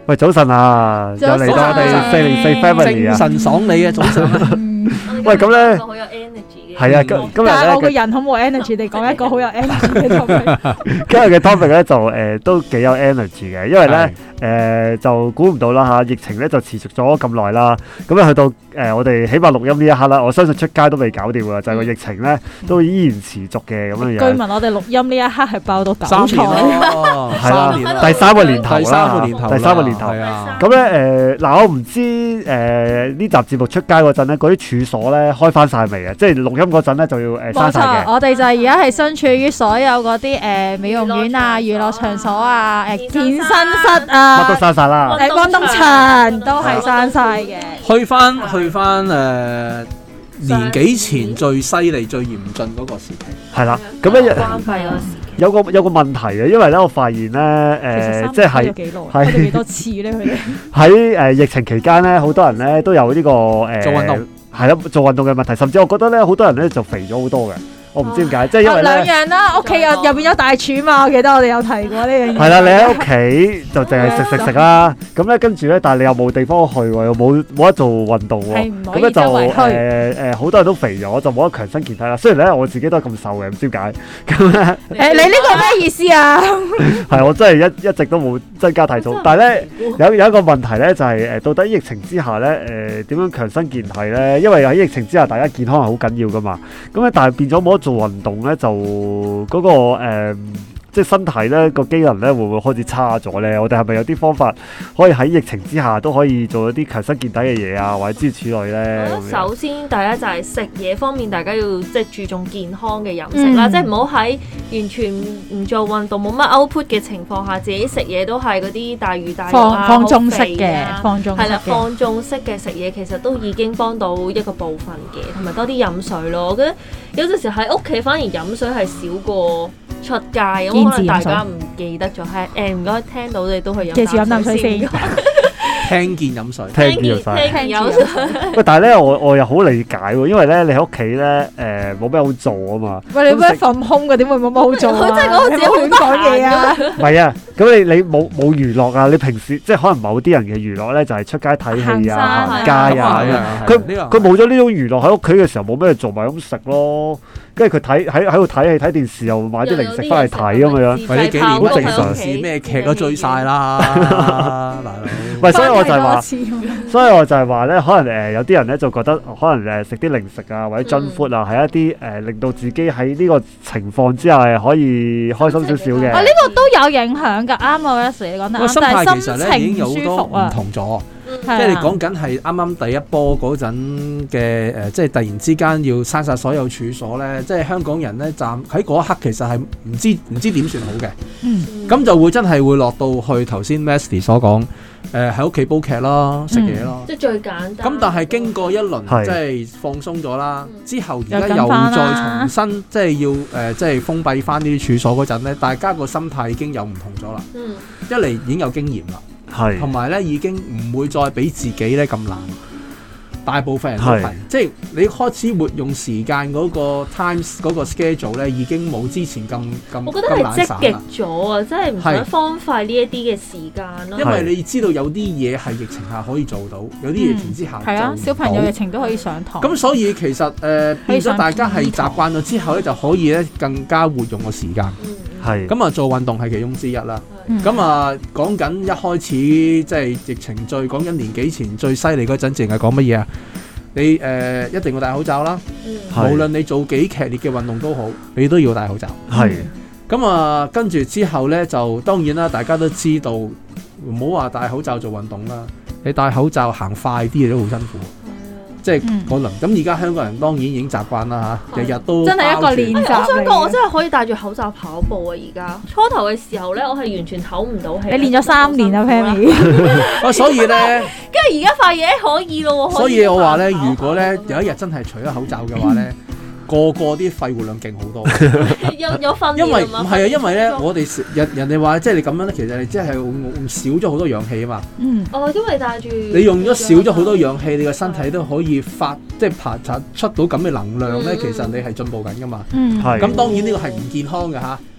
喂，早晨啊，又嚟到我哋404 Family 啊， 精神爽利啊，早晨。 喂，咁咧， 好有 energy 嘅。 係啊，今日但係我個人好冇 energy，你講一個好有 energy 嘅 topic。 今日嘅 topic 咧就都幾有 energy 嘅，因為咧就估唔到啦嚇，疫情咧就持續咗咁耐啦，咁咧去到我哋起碼錄音呢一刻啦，我相信出街都未搞掂㗎，就係個疫情咧都依然持續嘅咁樣樣。 據聞我哋錄音呢一刻係爆到9彩， 係啦，第三個年頭啦，第三個年頭。咁咧嗱，我唔知呢集節目出街嗰陣咧，嗰啲處所咧開翻晒未啊？即係錄音嗰陣咧就要閂晒嘅。 我哋就而家係身處於所有嗰啲美容院啊、娛樂場所啊、健身室啊， 乜都閂晒啦。 運動場都係閂晒嘅。 去翻年幾前最犀利、最嚴峻嗰個時期。 係啦，咁咧關閉嗰時期。 有個問題嘅，因為咧我發現咧即係喺幾多次咧佢哋喺疫情期間咧，好多人咧都有呢個做運動係咯，做運動嘅問題，甚至我覺得咧好多人咧就肥咗好多嘅。我唔知點解，即係因為咧兩樣啦，屋企入邊有大廚嘛，我記得我哋有提過呢樣嘢。 係啦，你喺屋企就淨係食啦，咁咧跟住咧，但係你又冇地方去喎，又冇得做運動喎，咁咧就好多人都肥咗，就冇得強身健體啦。雖然咧我自己都係咁瘦嘅，唔知點解咁咧。 你呢個咩意思啊？ 係我真係一直都冇增加體重，但係咧有一個問題咧就係到底疫情之下咧點樣強身健體咧？因為喺疫情之下，大家健康係好緊要噶嘛。咁咧但係變咗冇得做運動咧，就嗰個即係身體咧個機能咧會唔會開始差咗咧？我哋係咪有啲方法可以喺疫情之下都可以做一啲強身健體嘅嘢啊，或者諸如此類咧？ 首先第一就係食嘢方面，大家要即係注重健康嘅飲食啦，即係唔好喺完全唔做運動冇乜 output 嘅情況下，自己食嘢都係嗰啲大魚大肉啊， 放縱式嘅，係啦， 放縱式嘅食嘢其實都已經幫到一個部分嘅，同埋多啲飲水咯。我覺得有陣時喺屋企反而飲水係少過出街，咁可能大家唔記得咗，係唔該聽到你都去飲啖水先。 聽見飲水， 聽見飲水。 喂，但係咧，我又好理解喎，因為咧你喺屋企咧冇咩好做啊嘛。 喂，你咩份空嘅點會冇乜好做啊？佢真係講自己亂講嘢啊！ 唔係啊，咁你冇娛樂啊？你平時即係可能某啲人嘅娛樂咧，就係出街睇戲啊、行街啊。佢冇咗呢種娛樂喺屋企嘅時候，冇咩做，咪咁食咯。跟住佢喺度睇戲睇電視，又買啲零食翻嚟睇咁樣。 喂，呢幾年好正常，咩劇都追晒啦，大佬。 喂，所以我就係話咧，可能有啲人咧就覺得可能食啲零食啊或者 junk food 啊，係一啲令到自己喺呢個情況之下可以開心少少嘅。 呢個都有影響㗎，啱啊 Wesley 你講得啱。 心態其實咧已經有好多唔同咗。即係你講緊係啱啱第一波嗰陣嘅即係突然之間要閂晒所有處所咧，即係香港人咧喺嗰一刻其實係唔知點算好嘅。咁就會真係會落到去頭先 Wesley 所講喺屋企煲劇咯，食嘢咯， 即係最簡單。 咁但係經過一輪即係放鬆咗啦，之後而家又再重新即係要即係封閉翻呢啲處所嗰陣咧，大家個心態已經有唔同咗啦。一嚟已經有經驗啦。同埋咧，已經唔會再俾自己咧咁難。大部分人都係，即係你開始活用時間嗰個 times 嗰個 schedule 咧，已經冇之前咁我覺得係積極咗啊！即係唔想荒廢呢一啲嘅時間咯。因為你知道有啲嘢係疫情下可以做到，有啲疫情之下係啊，小朋友疫情都可以上堂。 咁所以其實變咗大家係習慣咗之後咧，就可以咧更加活用個時間。咁啊，做運動係其中之一啦。咁啊，講緊一開始即係疫情講緊年幾前最犀利嗰陣，淨係講乜嘢啊？你一定要戴口罩啦。無論你做幾劇烈嘅運動都好，你都要戴口罩。咁啊，跟住之後咧，就當然啦，大家都知道唔好話戴口罩做運動啦。你戴口罩行快啲嘢都好辛苦。即係可能咁，而家香港人當然已經習慣啦嚇，日日都真係一個練習。 我想講，我真係可以戴住口罩跑步啊！而家初頭嘅時候咧，我係完全唞唔到氣。 你練咗3年啊 Pammy。 所以咧，跟住而家發現可以咯喎。 所以我話咧，如果咧有一日真係除咗口罩嘅話咧，個啲肺活量勁好多。 有訓練。 因為唔係啊，因為咧我哋人哋話即係你咁樣咧，其實你即係少咗好多氧氣啊嘛。 因為戴住。你用咗少咗好多氧氣，你個身體都可以即係排出到咁嘅能量咧，其實你係進步緊噶嘛。咁當然呢個係唔健康嘅嚇。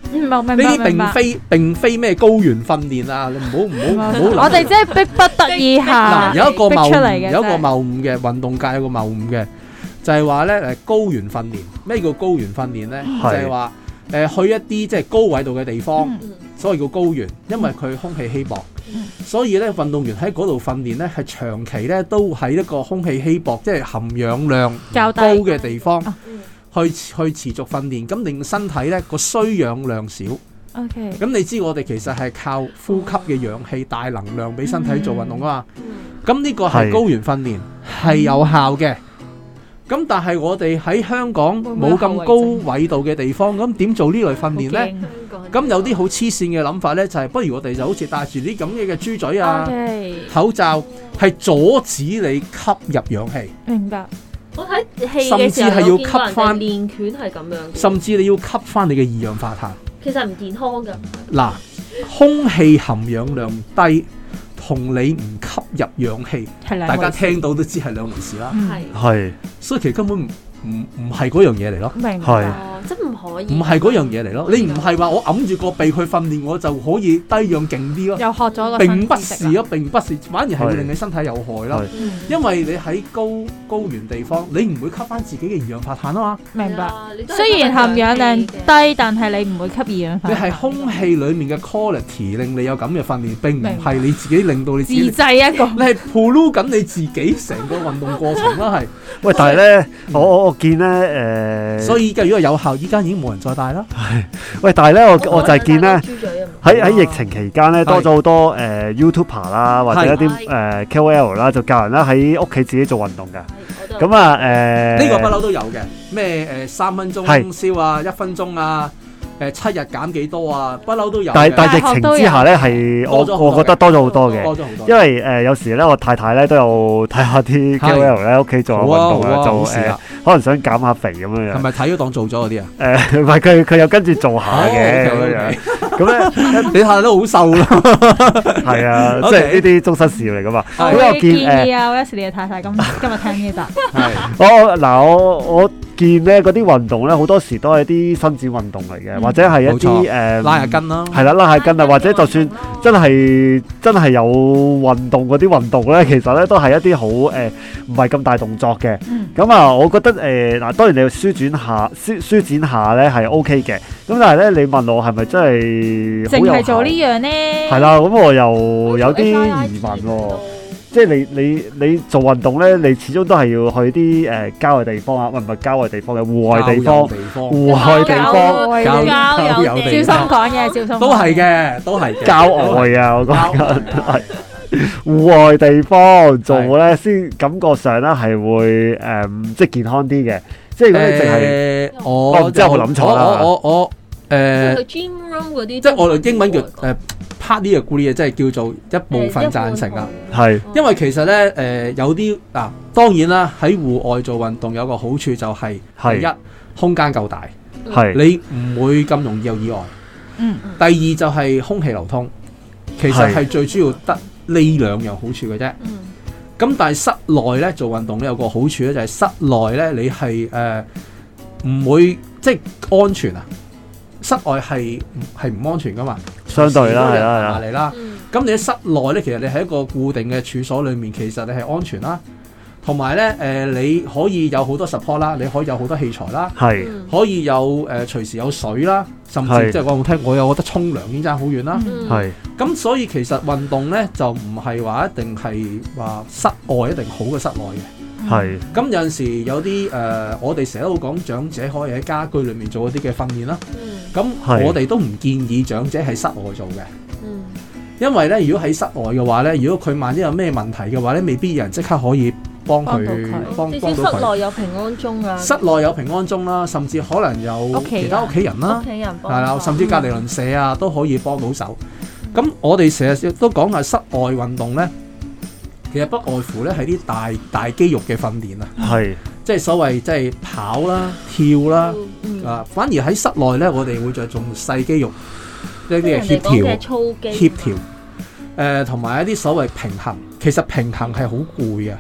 呢啲並非咩高原訓練啊！你唔好。 我哋即係逼不得已下有一個謬誤， 有一個謬誤嘅運動界有個謬誤嘅，就係話咧高原訓練。咩叫高原訓練咧？就係話去一啲即係高緯度嘅地方，所謂叫高原，因為佢空氣稀薄，所以咧運動員喺嗰度訓練咧係長期咧都喺一個空氣稀薄，即係含氧量高嘅地方。去持續訓練，咁令身體咧個需氧量少。 OK。 咁你知我哋其實係靠呼吸嘅氧氣大能量俾身體做運動啊嘛。咁呢個係高原訓練係有效嘅。咁但係我哋喺香港冇咁高緯度嘅地方，咁點做呢類訓練咧？咁有啲好黐線嘅諗法咧，就係不如我哋就好似戴住啲咁嘅豬嘴啊、口罩，係阻止你吸入氧氣。 明白。 我睇戲嘅時候有見過人哋練拳係咁樣， 甚至你要吸翻你嘅二氧化碳。 其實唔健康㗎。 嗱，空氣含氧量低同你唔吸入氧氣，大家聽到都知係兩回事啦。 係， 所以其實根本唔係嗰樣嘢嚟咯。 明白。 真唔可以。唔係嗰樣嘢嚟咯。你唔係話我揞住個鼻去訓練，我就可以低氧勁啲咯。 又學咗個並不是咯，並不是，反而係會令你身體有害咯。因為你喺高原地方，你唔會吸翻自己嘅二氧化碳啊嘛。 明白。雖然含氧量低，但係你唔會吸二氧化碳。 你係空氣裡面嘅 quality 令你有咁嘅訓練，並唔係你自己令到你自己自製一個。 你係 pollute 緊你自己成個運動過程啦，係。 喂，但係咧，我見咧所以如果有效，依家已經冇人再戴啦。 係，喂，但係咧，我就係見咧，喺疫情期間咧，多咗好多YouTuber 啦，或者一啲KOL 啦，就教人啦喺屋企自己做運動嘅。咁啊呢個不嬲都有嘅，咩3分鐘燒啊，1分鐘啊。7日減幾多啊？不嬲都有。但係疫情之下咧，係我覺得多咗好多嘅。因為有時咧，我太太咧都有睇下啲 KOL 咧，屋企做下運動啊，就可能想減下肥咁樣樣。 係咪睇咗當做咗嗰啲啊？ 唔係佢又跟住做下嘅咁樣樣。咁咧，你睇都好瘦咯。係啊，即係呢啲終身事業嚟㗎嘛。 我建議啊，Wesley 你嘅太太今日聽呢集。 我見咧嗰啲運動咧，好多時都係啲伸展運動嚟嘅，或者係一啲拉下筋啦， 係啦，拉下筋啊，或者就算真係有運動嗰啲運動咧，其實咧都係一啲好唔係咁大動作嘅。咁啊，我覺得嗱，當然你要舒展下咧係 OK 嘅。咁但係咧，你問我係咪真係淨係做呢樣咧？ 係啦，咁我又有啲疑問喎。即係你做運動咧，你始終都係要去啲郊外地方啊，唔係郊外地方嘅戶外地方，戶外地方， 郊遊地方，小心講嘢，小心都係嘅，都係郊外啊！我講緊係戶外地方做咧，先感覺上咧係會即係健康啲嘅。即係如果你淨係我唔知有冇諗錯啦。 我去 gym room 嗰啲， 即係我哋英文叫partly agree 嘅，即係叫做一部分贊成啊。 係， 因為其實咧有啲嗱，當然啦，喺戶外做運動有個好處就係第一，空間夠大，係你唔會咁容易有意外。第二就係空氣流通，其實係最主要得呢兩樣好處嘅啫。咁但係室內咧做運動咧有個好處咧，就係室內咧你係唔會即係安全啊。室外係唔安全噶嘛？ 相對啦，係啦， 嚟啦。咁你喺室內咧，其實你喺一個固定嘅處所裏面，其實你係安全啦。同埋咧，你可以有好多 support 啦，你可以有好多器材啦，係可以有隨時有水啦，甚至即係講好聽，我又覺得沖涼已經爭好遠啦。係咁，所以其實運動咧就唔係話一定係話室外一定好過室內嘅。係咁有陣時有啲我哋成日都講長者可以喺家居裏面做一啲嘅訓練啦。咁我哋都唔建議長者喺室外做嘅。因為咧，如果喺室外嘅話咧，如果佢萬一有咩問題嘅話咧，未必有人即刻可以幫佢幫到佢。 室內有平安鐘啊， 室內有平安鐘啦，甚至可能有其他屋企人啦，係啦，甚至隔離鄰舍啊都可以幫到手。咁我哋成日都講下室外運動咧。其實不外乎咧係啲大肌肉嘅訓練啊，係即係所謂即係跑啦、跳啦，反而喺室內咧，我哋會着重細肌肉一啲嘅協調，同埋一啲所謂平衡。其實平衡係好攰嘅，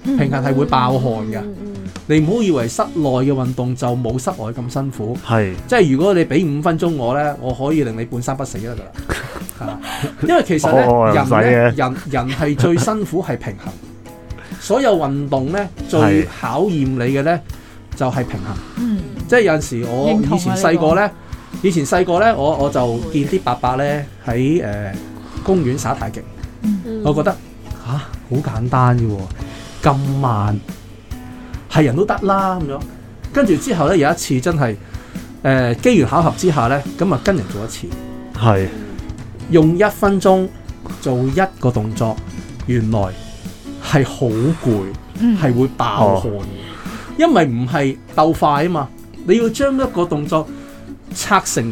平衡係會爆汗㗎。你唔好以為室內嘅運動就冇室外咁辛苦，即係如果你俾5分鐘我咧，我可以令你半生不死得㗎啦。因為其實咧，人係最辛苦係平衡，所有運動咧最考驗你嘅咧就係平衡。即係有陣時我以前細個咧，我就見啲伯伯咧喺公園耍太極，我覺得好簡單嘅喎，咁慢。係人都得啦咁樣，跟住之後咧有一次真係機緣巧合之下咧，咁啊跟人做一次，用1分鐘做一個動作，原來係好攰，係會爆汗嘅，因為唔係鬥快啊嘛，你要將一個動作拆成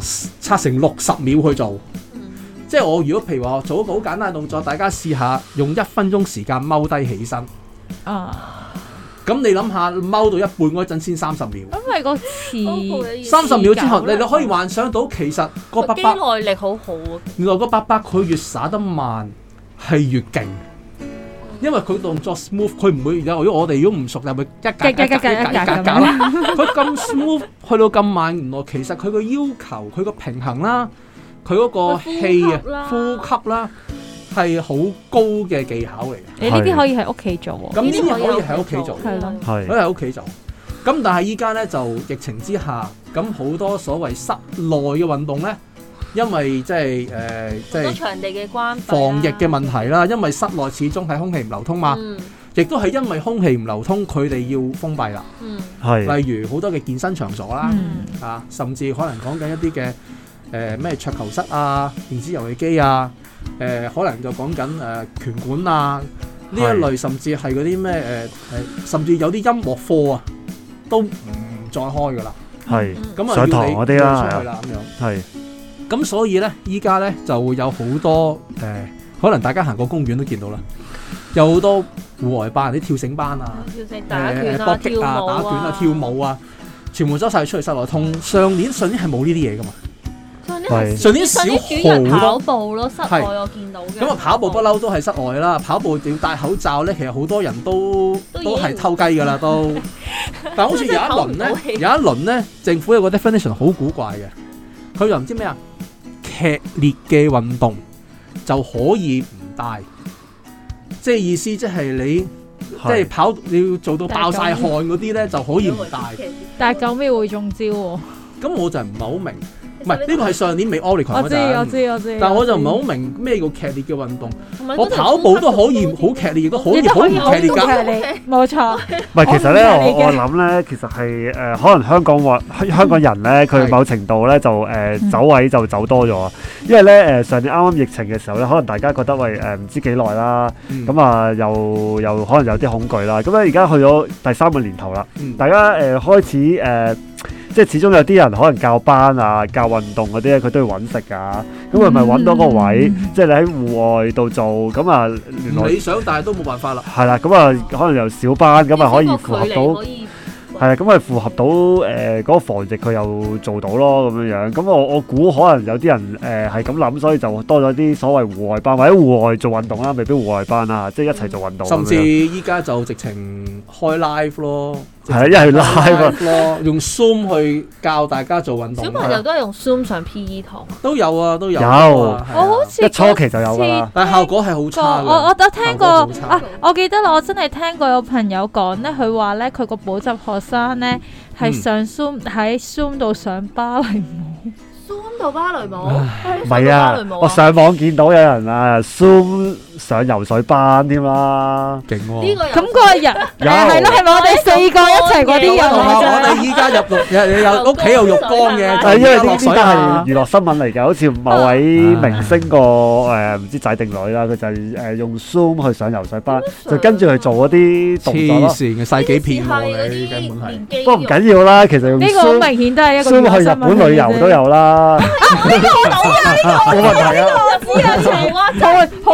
60秒去做，即係我如果譬如話做一個好簡單嘅動作，大家試下用1分鐘時間踎低起身。咁你諗下，踎到一半嗰陣先30秒。 咁係個詞 30秒之後，你可以幻想到其實個伯伯肌耐力好好啊。 原來個伯伯佢越耍得慢係越勁，因為佢動作 smooth， 佢唔會如果我哋如果唔熟就會一格啦。佢咁 smooth 去到咁慢，原來其實佢個要求、佢個平衡啦、佢嗰個氣啊、呼吸啦。係好高嘅技巧嚟嘅。 你呢啲可以喺屋企做喎。 咁呢啲可以喺屋企做， 係咯， 可以喺屋企做。咁但係依家咧就疫情之下，咁好多所謂室內嘅運動咧，因為即係場地嘅關係、 防疫嘅問題啦，因為室內始終係空氣唔流通嘛，亦都係因為空氣唔流通，佢哋要封閉啦。例如好多嘅健身場所啦，甚至可能講緊一啲嘅咩桌球室啊、電子遊戲機啊。可能就講緊拳館啊呢一類，甚至係嗰啲咩甚至有啲音樂課啊，都唔再開噶啦。咁啊，上堂嗰啲啦，出去啦咁樣。咁所以咧，依家咧就會有好多可能大家行過公園都見到啦，有好多戶外班、啲跳繩班啊、 打拳啊、 搏擊啊、打拳啊、跳舞啊，全部走晒出去室內。同上年係冇呢啲嘢噶嘛。上年少好跑步咯，室外我見到嘅。 咁啊，跑步不嬲都係室外啦。跑步要戴口罩咧，其實好多人都係偷雞噶啦，都。但係好似有一輪咧，政府有個 definition 好古怪嘅，佢又唔知咩啊，劇烈嘅運動就可以唔戴，即係意思即係你即係跑你要做到爆晒汗嗰啲咧就可以唔戴。 但係9秒會中招喎。 咁我就唔係好明。唔係呢個係上年未 Omicron 嗰陣， 我知。 但係我就唔係好明咩叫劇烈嘅運動。我跑步都可以好劇烈，亦都可以好唔劇烈㗎。 冇錯。 唔係，其實咧，我諗咧，其實係可能香港人咧，佢某程度咧就走位就走多咗。因為咧上年啱啱疫情嘅時候咧，可能大家覺得喂唔知幾耐啦，咁啊又可能有啲恐懼啦。咁咧而家去咗第3個年頭啦，大家開始即係始終有啲人可能教班啊、教運動嗰啲咧，佢都要揾食㗎。咁係咪揾到個位？即係你喺戶外度做，咁啊， 唔理想，但係都冇辦法啦。 係啦，咁啊，可能由小班咁啊，可以符合到。係啊，咁咪符合到嗰個防疫，佢又做到咯咁樣樣。咁我估可能有啲人係咁諗，所以就多咗啲所謂戶外班或者戶外做運動啦，未必戶外班啊，即係一齊做運動。 甚至依家就直情開 live 咯， 係啊，一係 live 咯，用 Zoom 去教大家做運動。 小朋友都係用 Zoom 上 PE 堂， 都有啊，都有。 我好似一初期就有㗎啦， 但係效果係好差嘅。 我聽過啊，我記得我真係聽過有朋友講咧，佢話咧佢個補習學生咧係上 Zoom 喺 Zoom 度上芭蕾舞。 Zoom 到芭蕾舞？ 唔係啊，我上網見到有人啊 Zoom 上游水班添啦，勁喎！ 呢個咁個人係咯，係咪我哋4個一齊嗰啲人？ 我哋依家有屋企有浴缸嘅， 因為呢啲都係娛樂新聞嚟嘅，好似某位明星個唔知仔定女啦，佢就係用 Zoom 去上游水班，就跟住去做嗰啲動作咯。 黐線嘅世紀片喎，你根本係。 不過唔緊要啦，其實用 Zoom 呢個好明顯都係一個 Zoom 去日本旅遊都有啦。 呢個我知啊，呢個我知啊，好勁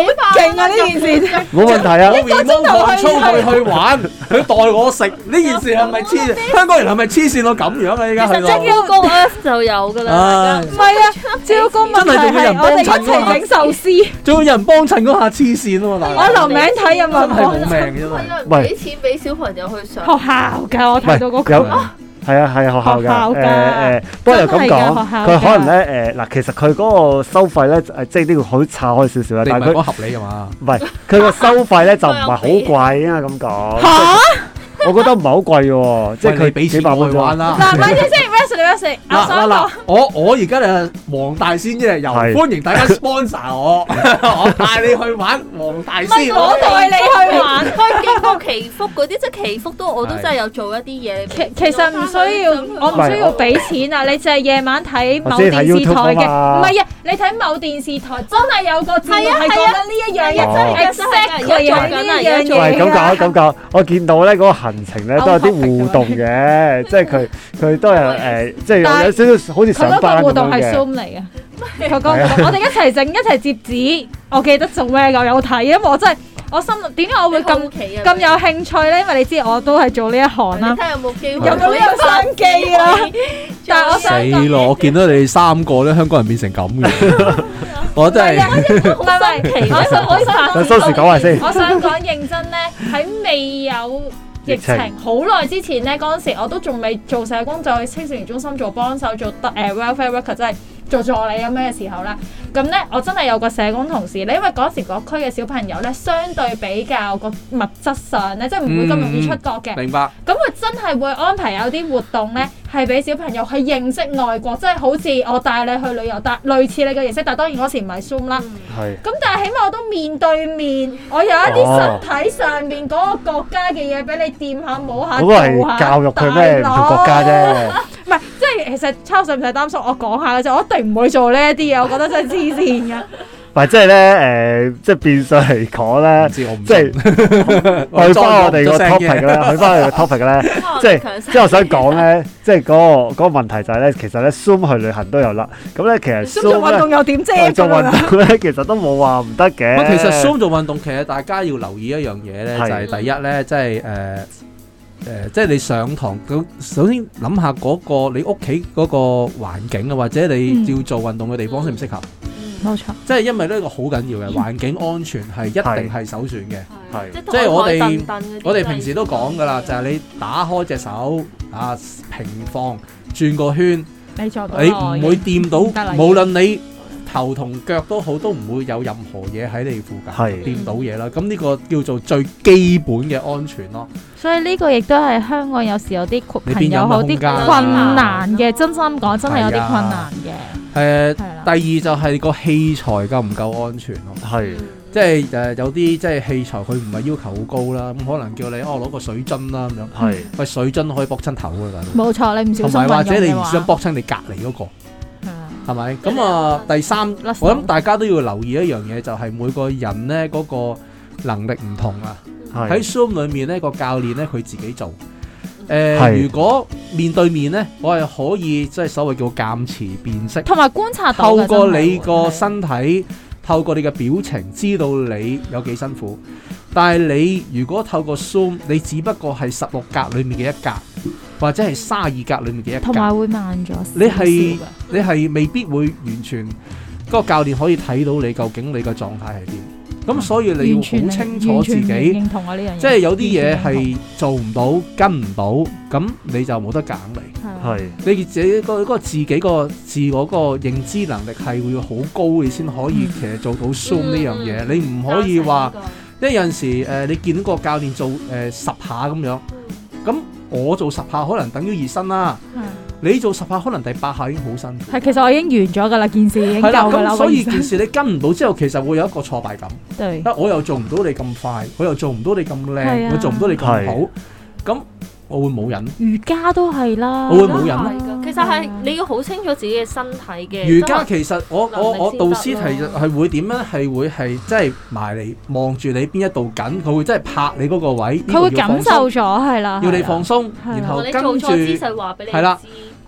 啊呢件事， 冇問題啊。 我面都狂衝去玩，佢代我食呢件事係咪黐線？香港人係咪黐線到咁樣啊？依家去到招工 F 就有㗎啦。 唔係啊，招工問題係我哋一齊整壽司， 仲有人幫襯嗰下黐線啊嘛！ 我留名睇有冇人幫真係冇命嘅真係。 俾錢俾小朋友去上學校㗎，我睇到嗰個。 係啊，學校㗎，不過又咁講，佢可能咧嗱，其實佢嗰個收費咧，即係呢個好岔開少少啦。但係佢合理㗎嘛？ 唔係，佢個收費咧就唔係好貴，應該咁講。 嚇！ 我覺得唔係好貴喎，即係佢俾幾百蚊玩啦。 嗱，咪先 ，Wesley， 嗱，我而家就黃大仙一日遊，歡迎大家 sponsor 我，我帶你去玩黃大仙。 我帶你去玩， 去經過祈福嗰啲，即係祈福我都真係有做一啲嘢。 其實唔需要，我唔需要俾錢啊！你就係夜晚睇某電視台嘅，唔係啊！你睇某電視台真係有個節目係講緊呢一樣嘢，真係 exactly 係呢一樣嘢。 喂，咁講，我見到咧嗰個行程咧都有啲互動嘅，即係佢都係即係有少少好似上班咁樣嘅。佢嗰個互動係 Zoom 嚟嘅，佢講我哋一齊整一齊摺紙，我記得做咩㗎？有睇，因為我真係我心諗點解我會咁有興趣咧？因為你知我都係做呢一行啦。 睇下有冇機會？ 有冇呢個商機啊？但係我死咯！我見到你哋三個咧，香港人變成咁嘅，我真係唔係，我想收時講話先。 我想講認真咧，喺未有疫情好耐之前咧，嗰陣時我都仲未做社工，就去青少年中心做幫手，做welfare worker，即係做助理咁樣嘅時候啦。咁咧，我真係有個社工同事咧，因為嗰時嗰區嘅小朋友咧，相對比較個物質上咧，即係唔會咁容易出國嘅。 明白。咁佢真係會安排有啲活動咧，係俾小朋友去認識外國，即係好似我帶你去旅遊，但類似你嘅形式，但係當然嗰時唔係 Zoom 啦。 係。 咁但係起碼我都面對面，我有一啲身體上面嗰個國家嘅嘢俾你掂下摸下。 嗰個係教育佢咩唔同國家啫。 唔係，即係其實抄水唔使擔心，我講下嘅啫，我一定唔會做呢一啲嘢，我覺得真係黐線㗎。 唔係即係咧即係變相嚟講咧，即係去翻我哋個 topic 咧，去翻我哋個 topic 咧，即係我想講咧，即係嗰個問題就係咧，其實咧 Zoom 去旅行都有啦。咁咧其實 Zoom 做運動又點啫？ 做運動咧其實都冇話唔得嘅。 其實 Zoom 做運動其實大家要留意一樣嘢咧，就係第一咧，即係即係你上堂，首先諗下嗰個你屋企嗰個環境啊，或者你要做運動嘅地方適唔適合？ 冇錯， 即係因為呢個好緊要嘅環境安全係一定係首選嘅。 係， 即係我哋平時都講㗎啦，就係你打開隻手啊，平放轉個圈，你唔會掂到，無論你頭同腳都好，都唔會有任何嘢喺你附近掂到嘢啦。咁呢個叫做最基本嘅安全咯。 所以呢個亦都係香港有時有啲朋友好啲困難嘅，真心講真係有啲困難嘅。第二就係個器材夠唔夠安全咯？係，即係有啲即係器材佢唔係要求好高啦，咁可能叫你攞個水樽啦咁樣。係，喂，水樽可以搏親頭㗎，大佬。冇錯，你唔小心運用嘅話。同埋或者你唔想搏親你隔離嗰個。係咪？咁啊，第三，我諗大家都要留意一樣嘢，就係每個人咧嗰個能力唔同啊。喺 Zoom 裏面咧，個教練咧佢自己做。如果面對面咧，我係可以即係所謂叫鑑詞辨識，同埋觀察到透過你個身體，透過你嘅表情，知道你有幾辛苦。但係你如果透過 Zoom，你只不過係16格裏面嘅一格。或者係32格裏面嘅一格，同埋會慢咗。你係未必會完全嗰個教練可以睇到你究竟你嘅狀態係點。咁所以你要好清楚自己，認同我呢樣嘢，即係有啲嘢係做唔到、跟唔到，咁你就冇得揀嚟。係你自己嗰個自己個自我個認知能力係會好高，你先可以其實做到 Zoom 呢樣嘢。你唔可以話，因為有陣時你見到個教練做10下咁樣，咁。我做10下可能等於熱身啦，你做10下可能第8下已經好辛苦。係，其實我已經完咗㗎啦，件事已經夠㗎啦。咁所以件事你跟唔到之後，其實會有一個挫敗感。對，我又做唔到你咁快，我又做唔到你咁靚，我做唔到你咁好，咁我會冇癮。瑜伽都係啦，我會冇癮。其實係你要好清楚自己嘅身體嘅。瑜伽其實我導師係會點樣？係會係即係埋嚟望住你邊一度緊，佢會真係拍你嗰個位。佢會感受咗係啦，要你放鬆，然後跟住係啦。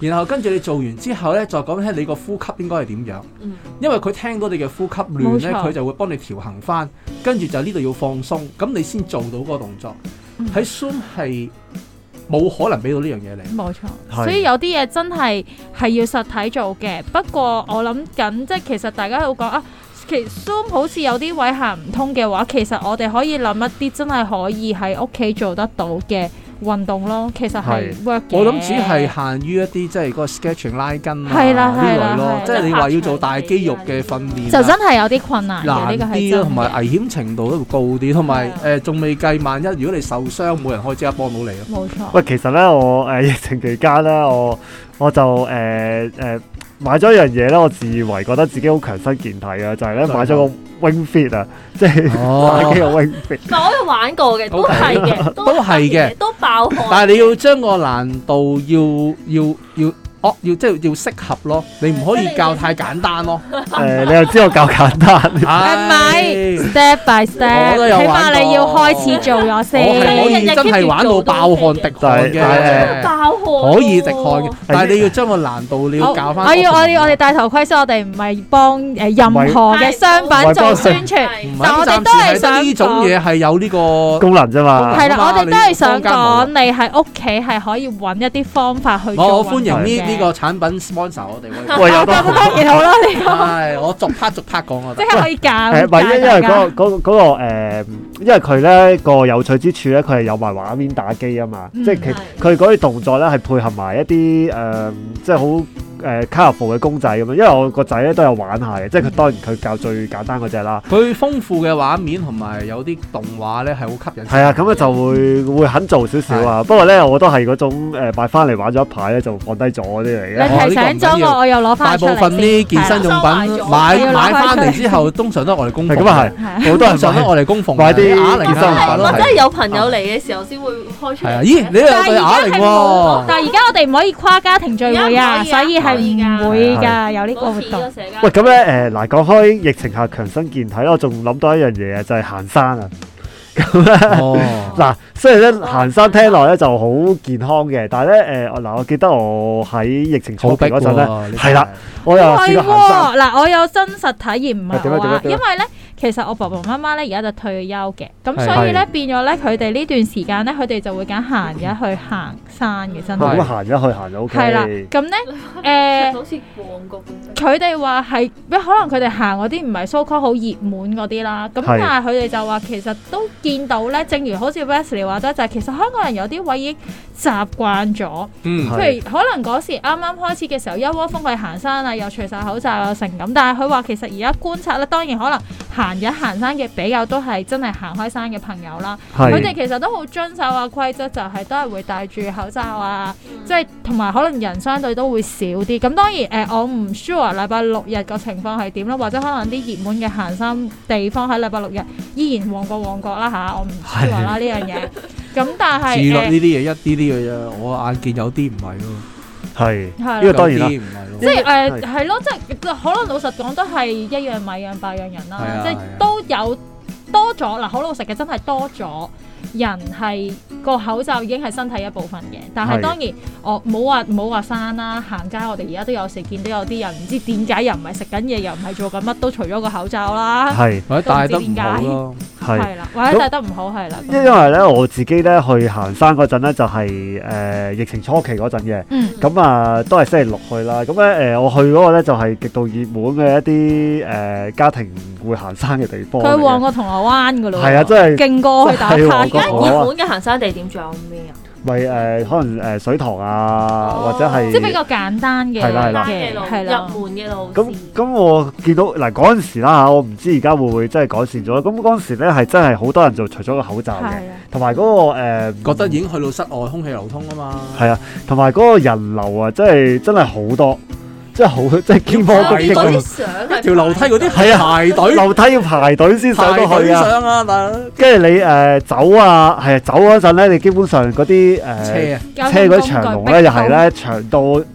然後跟住你做完之後咧，再講聽你個呼吸應該係點樣。因為佢聽到你嘅呼吸亂咧，佢就會幫你調衡翻，跟住就呢度要放鬆，咁你先做到嗰個動作。喺 Zoom 係冇可能俾到呢樣嘢你。冇錯， 所以有啲嘢真係要實體做嘅。不過我諗緊，即係其實大家都講啊。其實 Zoom 好似有啲位行唔通嘅話，其實我哋可以諗一啲真係可以喺屋企做得到嘅運動咯。其實係 work 嘅。 我諗只係限於一啲即係嗰個 sketching 拉筋啊呢類咯。即係你話要做大肌肉嘅訓練， 就真係有啲困難嘅。 難啲咯，同埋危險程度都會高啲，同埋仲未計萬一如果你受傷，冇人可以即刻幫到你咯。 冇錯。 喂，其實咧我疫情期間咧，我就買咗一樣嘢咧，我自以為覺得自己好強身健體啊，就係咧買咗個 Wing Fit 啊，即係打機個 Wing Fit。 我有玩過嘅，都係嘅， 都係嘅， 都爆汗。 但係你要將個難度要即係要適合咯，你唔可以教太簡單咯。 你又知我教簡單？ 唔係 step by step，起碼你要開始做咗先。 我係可以真係玩到爆汗滴汗嘅， 爆汗可以滴汗嘅，但係你要將個難度你要教翻。 我哋戴頭盔先，我哋唔係幫任何嘅商品做宣傳，但我哋都係想呢種嘢係有呢個功能啫嘛。 係啦，我哋都係想講你喺屋企係可以揾一啲方法去做。 我歡迎呢個產品 sponsor 我哋， 喂有得當然好啦，呢個係我逐 part 講我。 即係可以教。 唔係因為嗰個因為佢咧個有趣之處咧，佢係有埋畫面打機啊嘛，即係佢嗰啲動作咧係配合埋一啲即係好colourful 嘅公仔咁樣。因為我個仔咧都有玩下嘅，即係佢當然佢教最簡單嗰隻啦。 佢豐富嘅畫面同埋有啲動畫咧係好吸引。 係啊，咁咧就會肯做少少啊。不過咧我都係嗰種買翻嚟玩咗一排咧就放低咗嗰啲嚟嘅。 你提醒咗我又攞翻出嚟。 大部分啲健身用品買翻嚟之後，通常都係我哋供奉。 咁啊係，好多人常都我哋供奉。 買啲啞鈴健身用品咯。 即係有朋友嚟嘅時候先會開出嚟。 咦，你又有對啞鈴喎？ 但係而家我哋唔可以跨家庭聚會啊，所以係唔會㗎，有呢個活動。 喂，咁咧嗱，講開疫情下強身健體咧，我仲諗到一樣嘢啊，就係行山啊。咁咧嗱，雖然咧行山聽落咧就好健康嘅，但係咧我記得我喺疫情初期嗰陣咧，係啦，我又試過行山。 嗱，我有真實體驗，唔係話，因為咧其實我爸爸媽媽咧而家就退休嘅，咁所以咧變咗咧佢哋呢段時間咧，佢哋就會揀閒日去行山嘅，真係。 咁閒日去行就 OK。 係啦，咁咧好似旺角咁。 佢哋話係，可能佢哋行嗰啲唔係 so called 好熱門嗰啲啦，咁但係佢哋就話其實都見到咧，正如好似 Wesley 話齋，就係其實香港人有啲位已經習慣咗，譬如可能嗰時啱啱開始嘅時候一窩蜂去行山啊，又除晒口罩啊成咁，但係佢話其實而家觀察咧，當然可能閒日行山嘅比較都係真係行開山嘅朋友啦，佢哋其實都好遵守啊規則，就係都係會戴住口罩啊，即係同埋可能人相對都會少啲。咁當然我唔 sure 禮拜六日個情況係點啦，或者可能啲熱門嘅行山地方喺禮拜六日依然旺角啦嚇，我唔 sure 啦呢樣嘢。咁但係自律呢啲嘢一啲啲嘅啫，我眼見有啲唔係咯。 係，呢個當然啦， 即係係咯，即係可能老實講都係一樣米養百樣人啦，即係都有多咗嗱，好老實嘅真係多咗人係個口罩已經係身體一部分嘅，但係當然我冇話山啦，行街我哋而家都有時見到有啲人唔知點解又唔係食緊嘢，又唔係做緊乜，都除咗個口罩啦， 或者戴得唔好咯， 係啦，或者戴得唔好係啦。 因為咧我自己咧去行山嗰陣咧就係疫情初期嗰陣嘅，咁啊都係星期六去啦。咁咧我去嗰個咧就係極度熱門嘅一啲家庭會行山嘅地方。 佢旺過銅鑼灣噶咯， 係啊，真係勁過去打卡。 而家熱門嘅行山地點仲有咩啊？ 咪可能水塘啊，或者係即係比較簡單嘅入門嘅路。 咁我見到嗱嗰陣時啦嚇，我唔知而家會唔會真係改善咗。咁嗰陣時咧係真係好多人就除咗個口罩嘅，同埋嗰個覺得已經去到室外空氣流通啊嘛。 係啊，同埋嗰個人流啊，真係好多。即係好，即係肩波谷激咁。 條樓梯嗰啲係啊，排隊樓梯要排隊先上到去啊。跟住你走啊，係啊，走嗰陣咧，你基本上嗰啲車嗰啲長龍咧，又係咧長到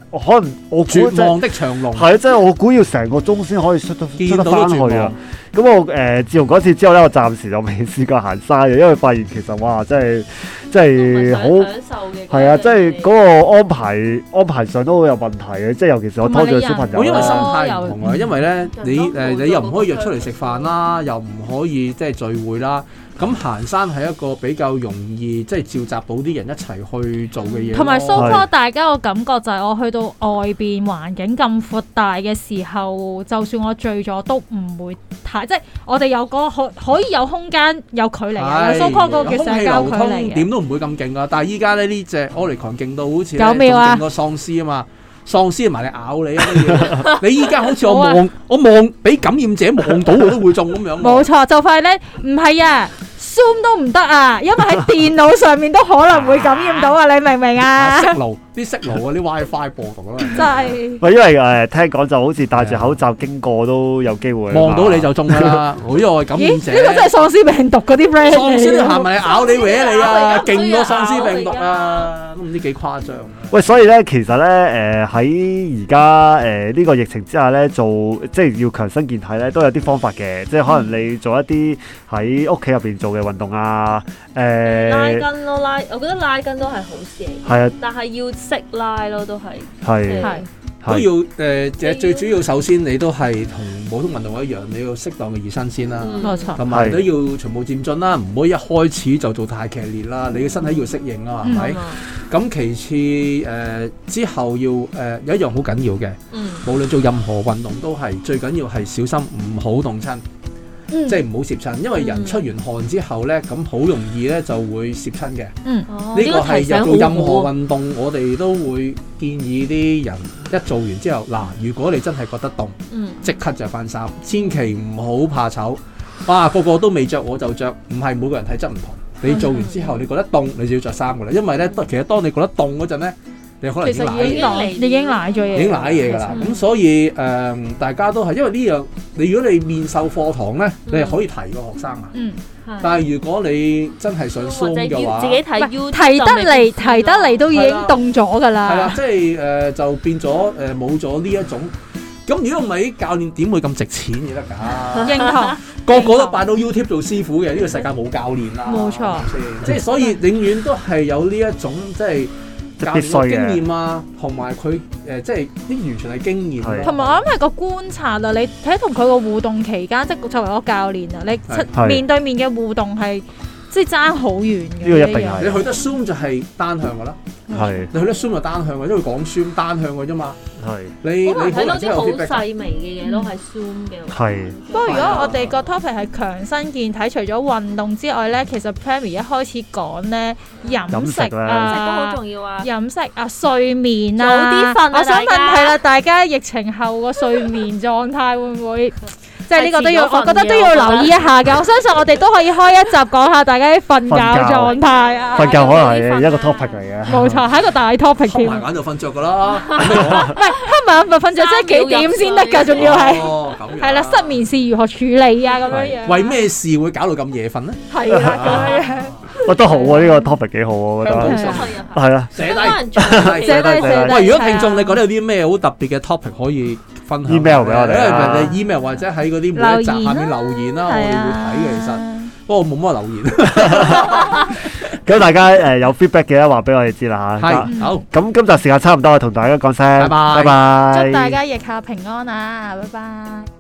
可能我估絕望的長龍係啊，即係我估要成個鐘先可以出得翻去啊！咁我自從嗰次之後咧，我暫時就未試過行山嘅，因為發現其實哇，真係好享受嘅。係啊，即係嗰個安排上都好有問題嘅，即係尤其是我拖住個小朋友。 因為心態唔同啊，因為咧你又唔可以約出嚟食飯啦，又唔可以即係聚會啦。咁行山係一個比較容易即係召集到啲人一齊去做嘅嘢， 同埋 so far 大家個感覺就係我去到外邊環境咁闊大嘅時候，就算我醉咗都唔會太即係我哋有個可以有空間有距離嘅 so far 嗰個叫社交距離嘅，點都唔會咁勁噶。但係依家咧呢隻 Omicron 勁到好似仲勁過喪屍啊嘛！喪屍埋嚟咬你啊！你依家好似我望俾感染者望到我都會中咁樣。冇錯， 就快咧，唔係啊 ，Zoom 都唔得啊，因為喺電腦上面都可能會感染到啊！你明唔明啊？ 啲色爐嗰啲 WiFi 播毒啦， 真係。 喂，因為聽講就好似戴住口罩經過都有機會望到你就中㗎啦。我呢個感染者， 呢個真係喪屍病毒嗰啲 friend。 喪屍行埋咬你搲你啊！勁過喪屍病毒啊！都唔知幾誇張。 喂，所以咧，其實咧，喺而家呢個疫情之下咧，即係要強身健體咧，都有啲方法嘅。即係可能你做一啲喺屋企入邊做嘅運動啊， 拉筋咯，我覺得拉筋都係好事嚟。 係啊， 但係要識拉咯，都係。 係。 都要最主要首先你都係同普通運動一樣，你要適當嘅熱身先啦。 冇錯。 同埋都要循序漸進啦，唔好一開始就做太劇烈啦。你嘅身體要適應啊，係咪？咁其次之後要有一樣好緊要嘅，無論做任何運動都係最緊要係小心唔好凍親。即係唔好攝親，因為人出完汗之後咧，咁好容易咧就會攝親嘅。呢個係做任何運動，我哋都會建議啲人一做完之後，嗱，如果你真係覺得凍，即刻着翻衫，千祈唔好怕醜。哇，個個都未着我就着，唔係每個人體質唔同。你做完之後，你覺得凍，你就要着衫噶啦。因為咧，其實當你覺得凍嗰陣咧，你可能已經賴咗嘢， 已經賴嘢㗎啦。咁所以大家都係因為呢樣，如果你面授課堂咧，你係可以提個學生啊。但係如果你真係想 Zoom 嘅話， 自己睇 YouTube 提得嚟都已經凍咗㗎啦。 係啦，即係就變咗冇咗呢一種。咁如果唔係，教練點會咁值錢嘅得㗎？ 認同， 個個都拜到 YouTube 做師傅嘅，呢個世界冇教練啦。 冇錯， 即係所以永遠都係有呢一種即係。教練嘅經驗啊，同埋佢即係啲完全係經驗。 同埋我諗係個觀察啊，你睇同佢個互動期間，即係作為一個教練啊，你面對面嘅互動係即係爭好遠嘅。 呢個一定係。 你去得 Zoom 就係單向㗎啦。係。你去得 Zoom 就單向嘅，因為講 Zoom 單向嘅啫嘛。係。你睇到啲好細微嘅嘢都係 Zoom 嘅。 係。 不過如果我哋個 topic 係強身健體，除咗運動之外咧，其實 Pammy 一開始講咧飲食啊， 都好重要啊。 飲食啊，睡眠啊， 早啲瞓啊。 我想問係啦，大家疫情後個睡眠狀態會唔會？即係呢個都要，我覺得都要留意一下嘅。我相信我哋都可以開一集講下大家啲瞓覺狀態啊。 瞓覺可能係一個 topic 嚟嘅。 冇錯，係一個大 topic 添。 瞌埋眼就瞓着㗎啦。 唔係瞌埋眼就瞓着，即係幾點先得㗎？仲要係。係啦，失眠是如何處理啊？咁樣樣。 為咩事會搞到咁夜瞓呢？ 係啦，咁樣。 喂，都好啊！呢個 topic 幾好啊，我覺得。係啊。 寫低。喂，如果聽眾你覺得有啲咩好特別嘅 topic 可以分享 email 俾我哋啊， 因為 email 或者喺嗰啲每一集下面留言啦，我哋會睇嘅。其實不過冇乜留言。 咁大家有 feedback 嘅話俾我哋知啦嚇。 係好。咁今集時間差唔多，同大家講聲，拜拜。 祝大家疫下平安啊！拜拜。